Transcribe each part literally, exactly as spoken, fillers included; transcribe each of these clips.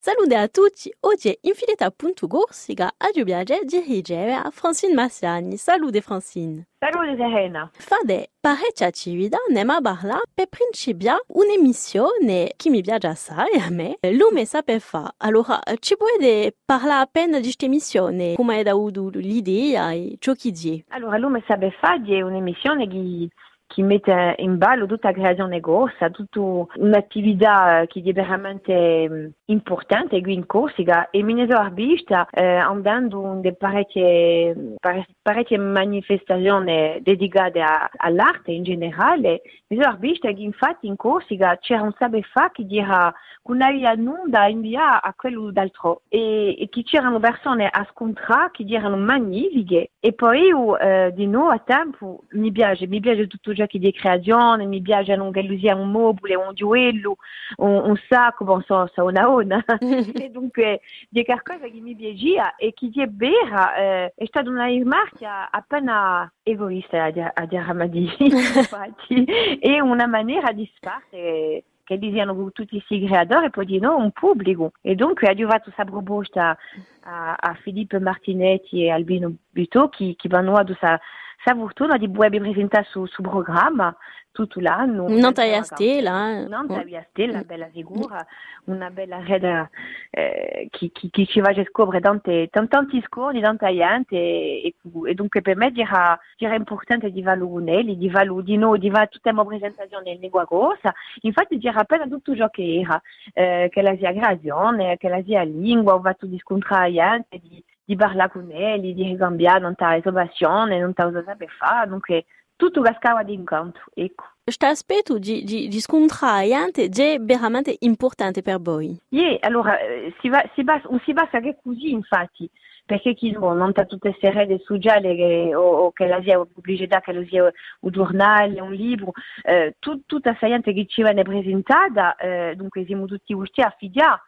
Salute a tutti, oggi è Infinita punto Corsica a Giubiage dirige a Francine Massiani. Salute Francine. Salute Serena. Fade parecchie attività ne ma parla per principia un'emissione che mi piace assai a me. Lume sape fa. Allora, ci puoi parlare appena di questa emissione? Come hai avuto l'idea e ciò che dici? Allora, Lume sape fa è un'emissione che che mette in ballo tutta la creazione corsa, tutta un'attività che è veramente importante qui in Corsica e mi ne sono vista eh, andando in parecchie, parecchie manifestazioni dedicate a, all'arte in generale. Mi sono vista che infatti in Corsica c'era un sape fa che era con una nuda inviata a quello d'altro e, e che c'erano persone a scontrare che erano magnifiche e poi eh, di nuovo a tempo mi piace, mi piace tutto ciò che è di creazione, mi piace anche l'usia un mobile, un gioiello, un, un sacco, bon, so, so una ona e dunque di qualcosa che mi piaceva e che è vera eh, è stata una rimarca appena egoista a dire, a dire a Madi infatti è una maniera di sparte che dicono tutti i creatori e poi di no un pubblico e dunque ha arrivato questa proposta a, a Filippo Martinetti e Albino Buto che, che vanno ad questa fortuna di poter presentare su, su programma tutto l'anno. Non taglia stella. Non taglia stella, bella figura, una bella reda eh, che, che, che ci va a scoprire tanti, tanti scorni, tanti gente e, e dunque per me era, era importante di valorizzare, di valorizzare, di noi, di fare tutta la presentazione in lingua corsa. Infatti c'era appena tutto ciò che era, eh, che la sia creazione, che la sia lingua, ho fatto di scontrare gente, di di parlare con lei, di ricambiare non ta innovazione, non ta cosa sape fare, dunque tutto cascava di incontro, ecco. Questo aspetto di, di, di scontrare è veramente importante per voi? Sì, allora si va, si va, non si basta che così infatti, perché chi non ha tutte queste rete sociali che, o, o che la sia pubblicità, che la sia un giornale, un libro, eh, tut, tutta questa gente che ci viene presentata, eh, dunque siamo tutti usciti a fidare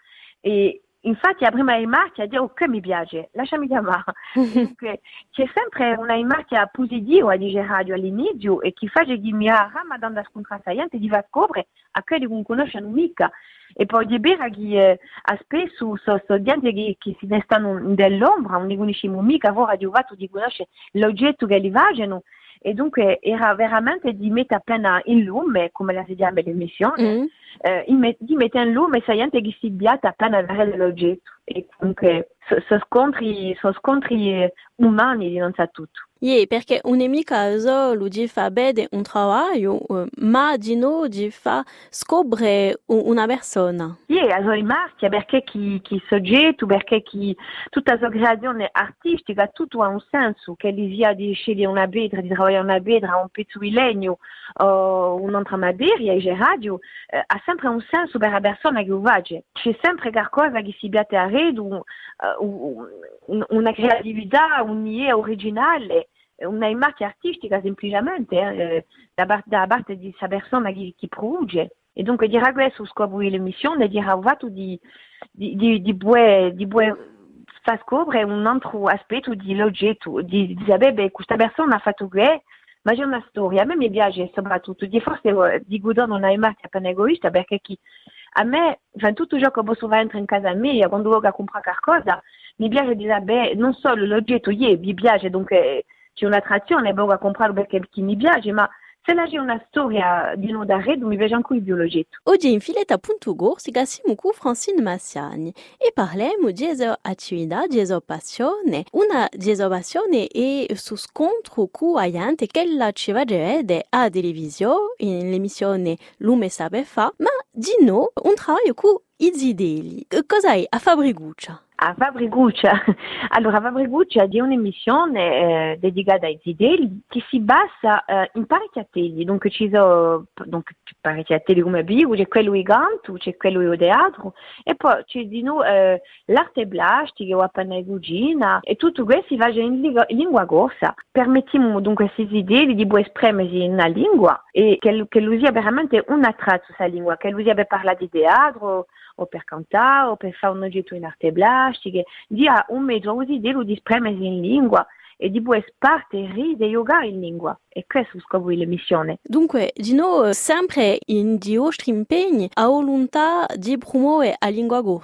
e infatti la prima rimarca è dire ok mi piace, lasciami chiamare. Dunque, c'è sempre una rimarca positiva di radio all'inizio e che fa che mi ha ramadan scontrata gente di va scoprire a quelli che non conoscono mica. E poi di vera che eh, a spesso sono so gente che, che si restano nell'ombra, non li conosciamo mica, ora di fatto di conoscere l'oggetto che li vogliono. E dunque era veramente di mettere appena in lume, come la si chiama l'emissione, mm. eh, di mettere in lume questa gente che si biata appena vedere l'oggetto. E comunque sono so scontri, so scontri umani di non sa tutto. Yeah, perché non è mica solo di fare bene un lavoro, ma di no di far scoprire una persona. Yeah, la rimarca perché chi, chi soggetto, perché chi, tutta la sua creazione artistica, tutto ha un senso, che gli sia di scegliere una pietra, di lavorare una pietra, un pezzo di legno, o un'altra materia, e radio, eh, ha sempre un senso per la persona che lo fa. C'è sempre qualcosa che si piace a redo, uh, una creatività, un'idea originale, una immagine artistica semplicemente eh, da, parte, da parte di questa persona che, che produce. E dunque dire questo scoprire l'emissione, dire ho fatto di, di, di, di, di, di far scoprire un altro aspetto dell'oggetto, di, di sapere che questa persona ha fatto questo, ma c'è una storia. A me mi piace soprattutto, di forse di godere una immagine appena egoista, perché chi, a me, enfin, tutto ciò che posso fare in casa mia, quando voglio comprare qualcosa, mi piace di sapere non solo l'oggetto, yeah, mi piace, dunque c'è un'attrazione, voglio comprare perché mi piace, ma se là c'è una storia di no d'arredo, mi piace anche più l'oggetto. Oggi in Filetta punto Corsica siamo con Francine Massiani e parliamo di attività, di passione. Una di passione è su scontro con la gente che la ci va a vedere a televisione, in l'emissione Lume Sape Fa, ma di no un lavoro con i zideli. Cosa è a Fabriguccia? A Fabriguccia, allora Fabriguccia è un'emissione eh, dedicata ai zideli che si basa eh, in parecchi ateli, dunque ci sono donc, parecchi ateli come Bigo, c'è quello di canto, c'è quello di teatro e poi c'è di noi eh, l'arte plastica o appena in cucina e tutto questo si fa in lingua, in lingua corsa. Permettiamo dunque a questi zideli di esprimersi in una lingua e che, che lo sia veramente una traccia questa lingua, che lo sia per parlare di teatro o per cantare o per fare un oggetto in arte plastica, dia un mezzo così di esprimersi in lingua e di poter spartire e giocare in lingua. E questo è lo scopo dell'emissione. Dunque, di noi sempre in di vostri impegni a volontà di promuovere la lingua corsa.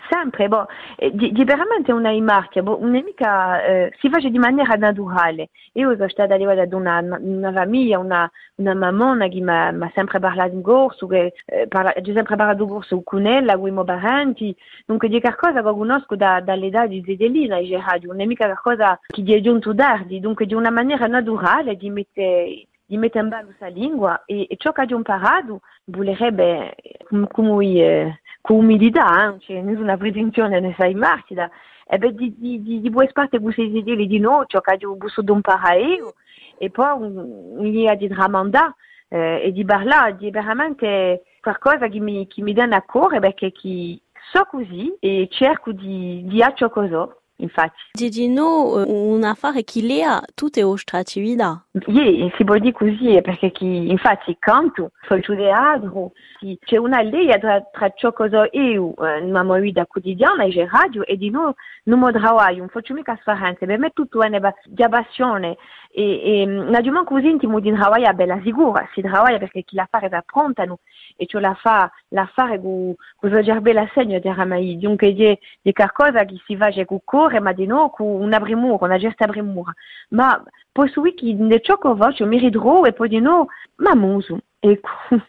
Sempre, boh, eh, di, di veramente una marchia, boh, un'amica eh, si fa di maniera naturale. Io sono stata arrivata ad una, una famiglia, una, una mammona che mi ha sempre parlato in corso, che eh, parla, ho sempre parlato in corso con ella, con i miei parenti, dunque di qualcosa che conosco da, dall'età di Zedelina, e radio, un'amica qualcosa che gli è giunto tardi, dunque di una maniera naturale di mettere di mettere in ballo questa lingua e, e ciò che ho imparato volerebbe come, come eh, con umiltà, eh? Cioè, nessuna presunzione ne sai marcida, e beh di, di, di, di buone parte questi idee di no, ciò che ho bisogno di imparare io, e poi mi ha di tramandare eh, e di parlare, di veramente qualcosa che mi, che mi dà a cuore, perché che so così e cerco di, di fare ciò che so. Infatti. Gigino, un affare che lea tutte le attività. Sì, si può dire così, perché chi, infatti canto, faccio teatro, sì, c'è una linea tra, tra ciò che so io, nella mia vita quotidiana, e radio, e di noi non mi lavoro, non faccio mica differenza, per me tutto è una passione, e, e non è così intimo di lavorare, bella sicura, si lavora perché chi la fa è pronta, no? E ciò la fa, la fare con la bella segno di Ramai, dunque di, di qualcosa che si fa con cuore, ma di no con una premura, una gesta premura, ma posso dire che nel ciò che faccio mi ridrò e poi di no, ma muso. Ecco.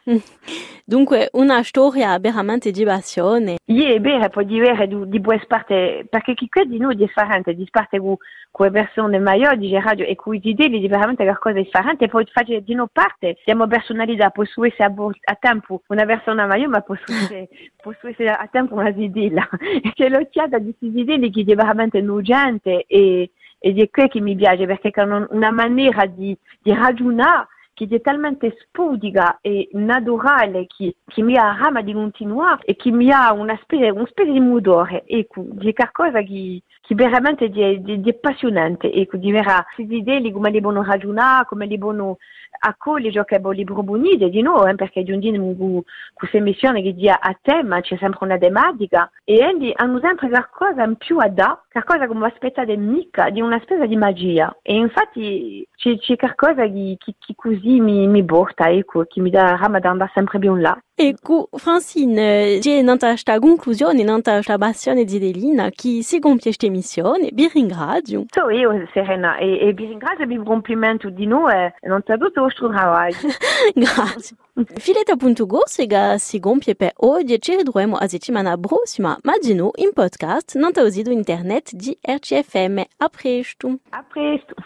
Dunque una storia veramente di passione. Sì, è vero, poi di vero di, di buone parte, perché chi crede di noi è differente, di parte con le persone maggiori di radio e con i idee di veramente qualcosa di differente, e poi fare di noi parte, siamo personalità, posso essere a, a tempo una persona maggiore, ma posso essere, posso essere a tempo una idea, e c'è l'occhiata di queste idee che è veramente nugente e, ed è quello che mi piace, perché è una maniera di, di ragionare che è talmente spudica e naturale che, che mi ha rama di continuare e che mi ha una specie, una specie di mudore, ecco, di qualcosa che, che veramente è, di, di appassionante, ecco, di vera, queste idee come le buono ragionare, come le buono accogliere ciò che li proponete di noi, eh, perché di un giorno con questa emissione che dia a tema c'è sempre una tematica e quindi hanno sempre qualcosa in più a dare, qualcosa come aspettate mica, di una specie di magia, e infatti c'è, c'è qualcosa che, che, che così mi, mi porta, ecco, che mi dà rama da andare sempre più là. Ecco, Francine, c'è un'altra conclusione, un'altra passione di Delina che si compie questa emissione, vi ringrazio. So io, Serena, e, e vi ringrazio e vi complimento di noi e non c'è tutto il vostro lavoro. Grazie. Fileta punto go si compie per oggi, ci ritroviamo a settimana prossima, ma di nuovo in podcast, non sito internet di R C F M. A presto. A presto.